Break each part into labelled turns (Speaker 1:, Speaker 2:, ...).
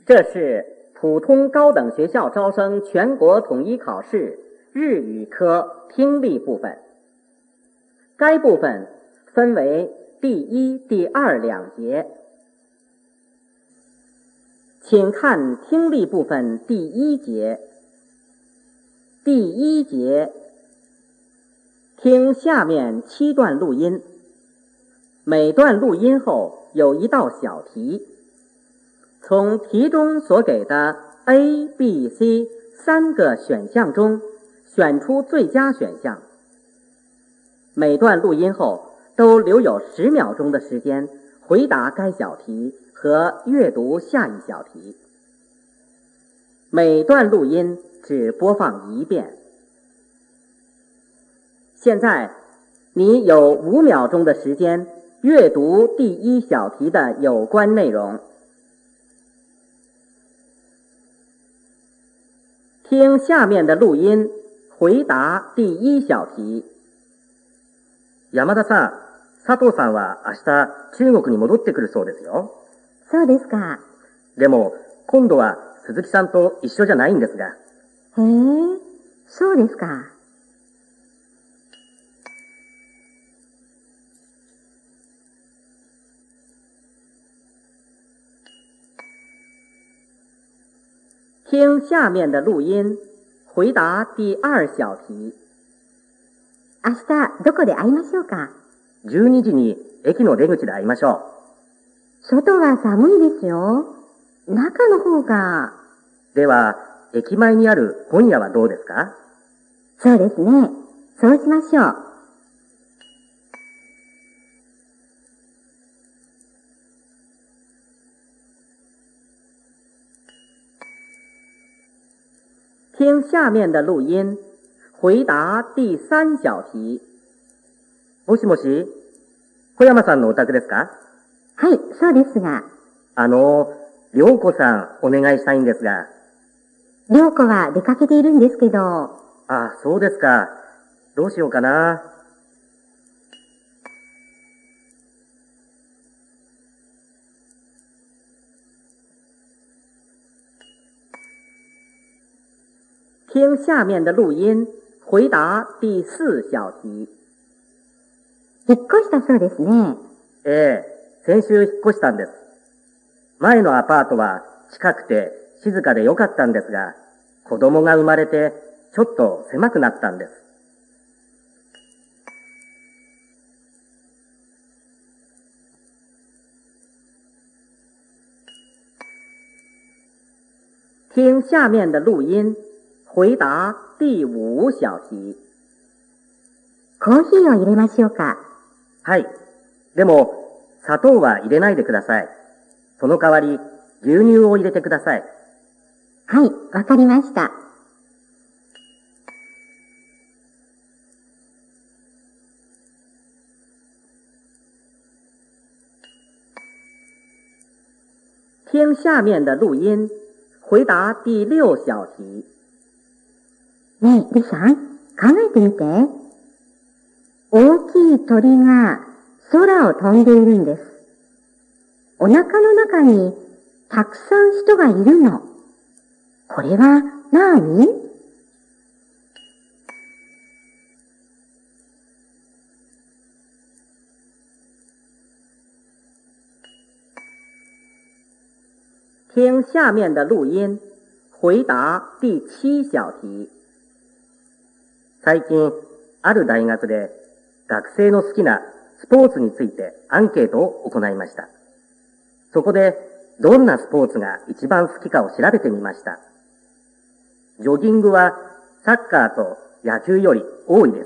Speaker 1: 这是普通高等学校招生全国统一考试日语科听力部分。该部分分为第一、第二两节。请看听力部分第一节。第一节，听下面7段录音，每段录音后有一道小题，从题中所给的 A、B、C 3个选项中选出最佳选项。每段录音后都留有10秒钟的时间回答该小题和阅读下一小题。每段录音只播放1遍。现在你有5秒钟的时间阅读第一小题的有关内容。听下面的录音，回答第一小题。
Speaker 2: 山田さん、佐藤さんは明日中国に戻ってくるそうですよ。
Speaker 3: そうですか。
Speaker 2: でも、今度は鈴木さんと一緒じゃないんですが。
Speaker 3: へえ、そうですか。
Speaker 1: 听下面的录音，回答第二小题。
Speaker 3: 明日どこで会いましょうか。
Speaker 2: 12時に駅の出口で会いましょ
Speaker 3: う。外は寒いですよ。中の方が。
Speaker 2: では、駅前にある本屋はどうですか？
Speaker 3: そうですね。そうしましょう。
Speaker 1: 听下面的录音，回答第3小題。
Speaker 2: もしもし、小山さんのお宅ですか？
Speaker 3: はい、そうですが。
Speaker 2: 涼子さんお願いしたいんですが。
Speaker 3: 涼子は出かけているんですけど。
Speaker 2: あ、そうですか。どうしようかな。
Speaker 1: 听下面的录音，回答第4小題。
Speaker 3: 引っ越したそうですね。
Speaker 2: ええ、先週引っ越したんです。前のアパートは近くて静かで良かったんですが、子供が生まれてちょっと狭くなったんです。
Speaker 1: 听下面的录音，回答第5小題。
Speaker 3: コーヒーを入れましょうか。
Speaker 2: はい。でも、砂糖は入れないでください。その代わり、牛乳を入れてください。
Speaker 3: はい、わかりました。
Speaker 1: 听下面的录音，回答第6小題。
Speaker 3: ねえ、リさん、考えてみて。大きい鳥が空を飛んでいるんです。お腹の中にたくさん人がいるの。これは何？
Speaker 1: 听下面的录音，回答第7小題。
Speaker 2: 最近、ある大学で学生の好きなスポーツについてアンケートを行いました。そこで、どんなスポーツが一番好きかを調べてみました。ジョギングはサッカーと野球より多いです。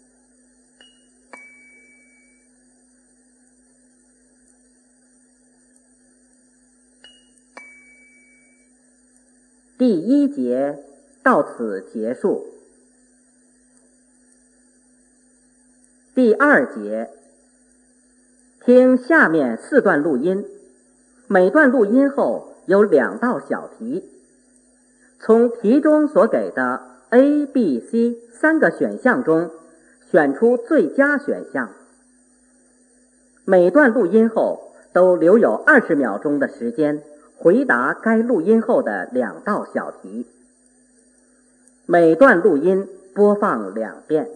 Speaker 1: 第1节到此结束。第2节，听下面4段录音，每段录音后有2道小题，从题中所给的 A、B、C 3个选项中选出最佳选项。每段录音后都留有20秒钟的时间回答该录音后的2道小题。每段录音播放2遍。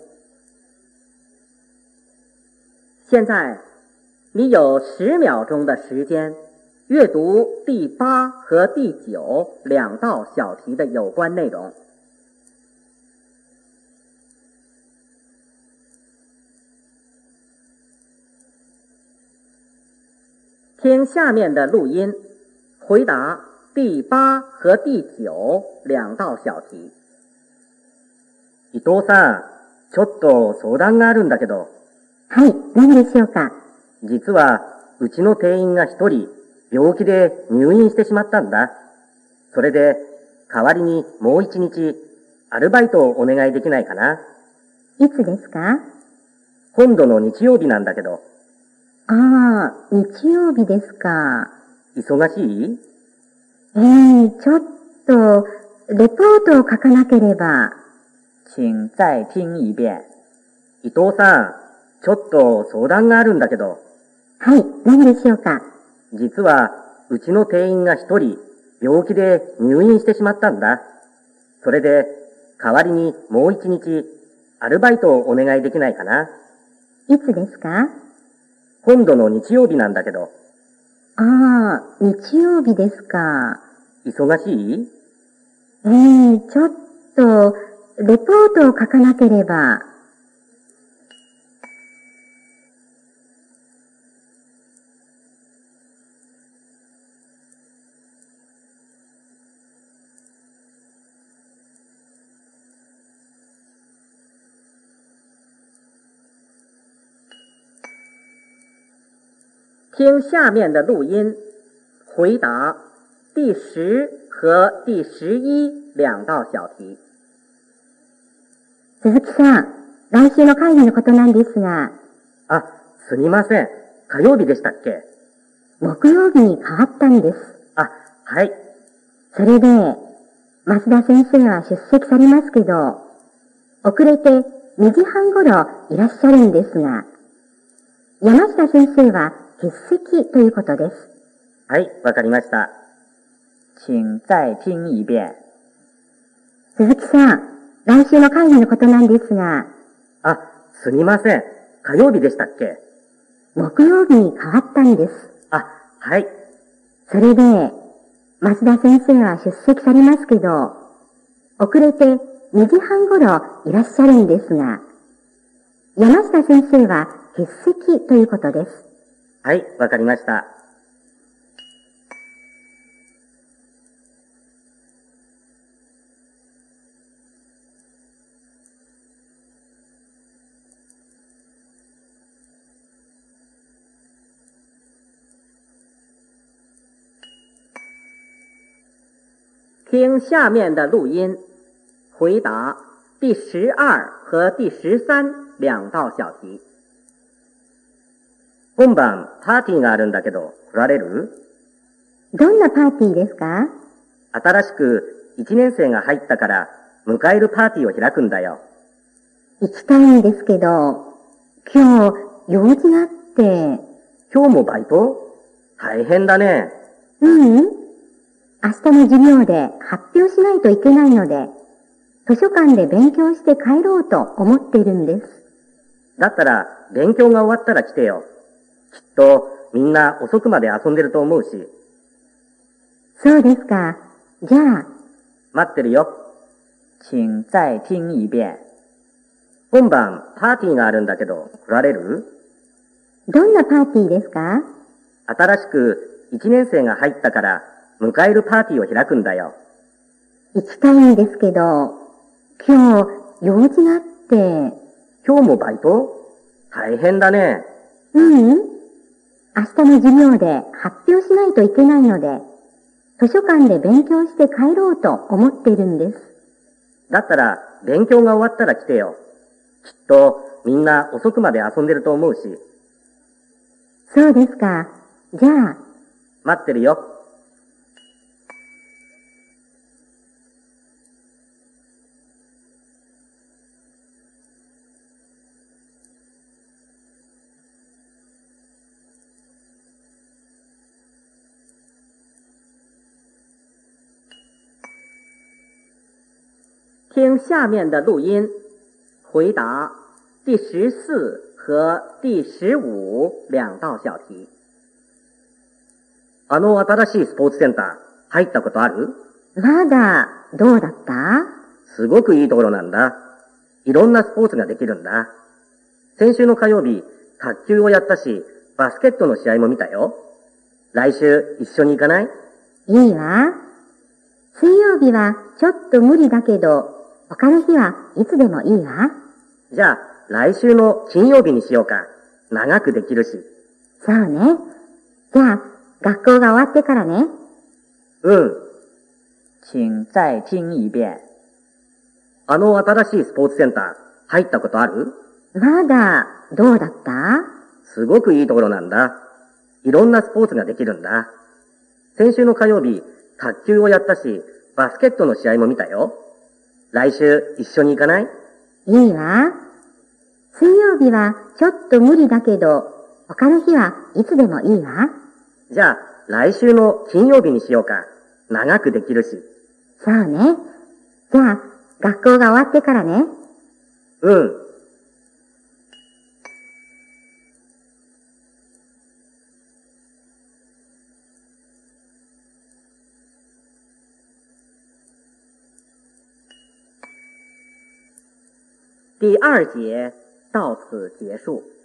Speaker 1: 现在你有10秒钟的时间阅读第8和第9 2道小题的有关内容。听下面的录音，回答第8和第9 2道小题。
Speaker 2: 伊藤さん、ちょっと相談があるんだけど。
Speaker 3: はい、何でしょうか。
Speaker 2: 実は、うちの店員が1人、病気で入院してしまったんだ。それで、代わりにもう1日、アルバイトをお願いできないかな。
Speaker 3: いつですか？
Speaker 2: 今度の日曜日なんだけど。
Speaker 3: ああ、日曜日ですか。
Speaker 2: 忙しい？
Speaker 3: ちょっと、レポートを書かなければ。
Speaker 1: 请再听一遍。
Speaker 2: 伊藤さん、ちょっと相談があるんだけど。
Speaker 3: はい、何でしょうか。
Speaker 2: 実は、うちの店員が1人、病気で入院してしまったんだ。それで、代わりにもう1日、アルバイトをお願いできないかな。
Speaker 3: いつですか？
Speaker 2: 今度の日曜日なんだけど。
Speaker 3: ああ、日曜日ですか。
Speaker 2: 忙しい？
Speaker 3: ちょっと、レポートを書かなければ。
Speaker 1: 听下面的录音，回答第10和第11 2道小题。
Speaker 3: 鈴木さん、来週の会議のことなんですが。
Speaker 2: あ、すみません。火曜日でしたっけ？
Speaker 3: 木曜日に変わったんです。
Speaker 2: あ、はい。
Speaker 3: それで、増田先生は出席されますけど、遅れて2時半頃いらっしゃるんですが、山下先生は欠席ということです。
Speaker 2: はい、わかりました。
Speaker 1: 请再听一遍。
Speaker 3: 鈴木さん、来週の会議のことなんですが。
Speaker 2: あ、すみません。火曜日でしたっけ？
Speaker 3: 木曜日に変わったんです。
Speaker 2: あ、はい。
Speaker 3: それで、増田先生は出席されますけど、遅れて2時半頃いらっしゃるんですが、山下先生は欠席ということです。
Speaker 2: はい、わかりました。
Speaker 1: 听下面的录音，回答第12和第13 2道小题。
Speaker 2: 今晩パーティーがあるんだけど、来られる？
Speaker 3: どんなパーティーですか？
Speaker 2: 新しく1年生が入ったから、迎えるパーティーを開くんだよ。
Speaker 3: 行きたいんですけど、今日用事があって。
Speaker 2: 今日もバイト？大変だね。
Speaker 3: 明日の授業で発表しないといけないので、図書館で勉強して帰ろうと思っているんです。
Speaker 2: だったら、勉強が終わったら来てよ。きっと、みんな遅くまで遊んでると思うし。
Speaker 3: そうですか。じゃあ。
Speaker 2: 待ってるよ。
Speaker 1: 请再听一遍。
Speaker 2: 今晩パーティーがあるんだけど、来られる？
Speaker 3: どんなパーティーですか？
Speaker 2: 新しく1年生が入ったから、迎えるパーティーを開くんだよ。
Speaker 3: 行きたいんですけど、今日用事があって。
Speaker 2: 今日もバイト？大変だね。
Speaker 3: 明日の授業で発表しないといけないので、図書館で勉強して帰ろうと思っているんです。
Speaker 2: だったら、勉強が終わったら来てよ。きっと、みんな遅くまで遊んでると思うし。
Speaker 3: そうですか。じゃあ。
Speaker 2: 待ってるよ。
Speaker 1: 听下面的录音，回答第14和第15道小题。
Speaker 2: 新しいスポーツセンター入ったことある？
Speaker 3: まだ、どうだった？
Speaker 2: すごくいいところなんだ。いろんなスポーツができるんだ。先週の火曜日、卓球をやったし、バスケットの試合も見たよ。来週一緒に行かない？
Speaker 3: いいわ。水曜日はちょっと無理だけど、他の日はいつでもいいわ。
Speaker 2: じゃあ、来週の金曜日にしようか。長くできるし。
Speaker 3: そうね。じゃあ、学校が終わってからね。
Speaker 2: うん。
Speaker 1: 请再听一遍。
Speaker 2: 新しいスポーツセンター入ったことある？
Speaker 3: まだ、どうだった？
Speaker 2: すごくいいところなんだ。いろんなスポーツができるんだ。先週の火曜日、卓球をやったし、バスケットの試合も見たよ。来週一緒に行かない？
Speaker 3: いいわ。水曜日はちょっと無理だけど、他の日はいつでもいいわ。
Speaker 2: じゃあ、来週の金曜日にしようか。長くできるし。
Speaker 3: そうね。じゃあ、学校が終わってからね。
Speaker 2: うん。
Speaker 1: 第2节到此结束。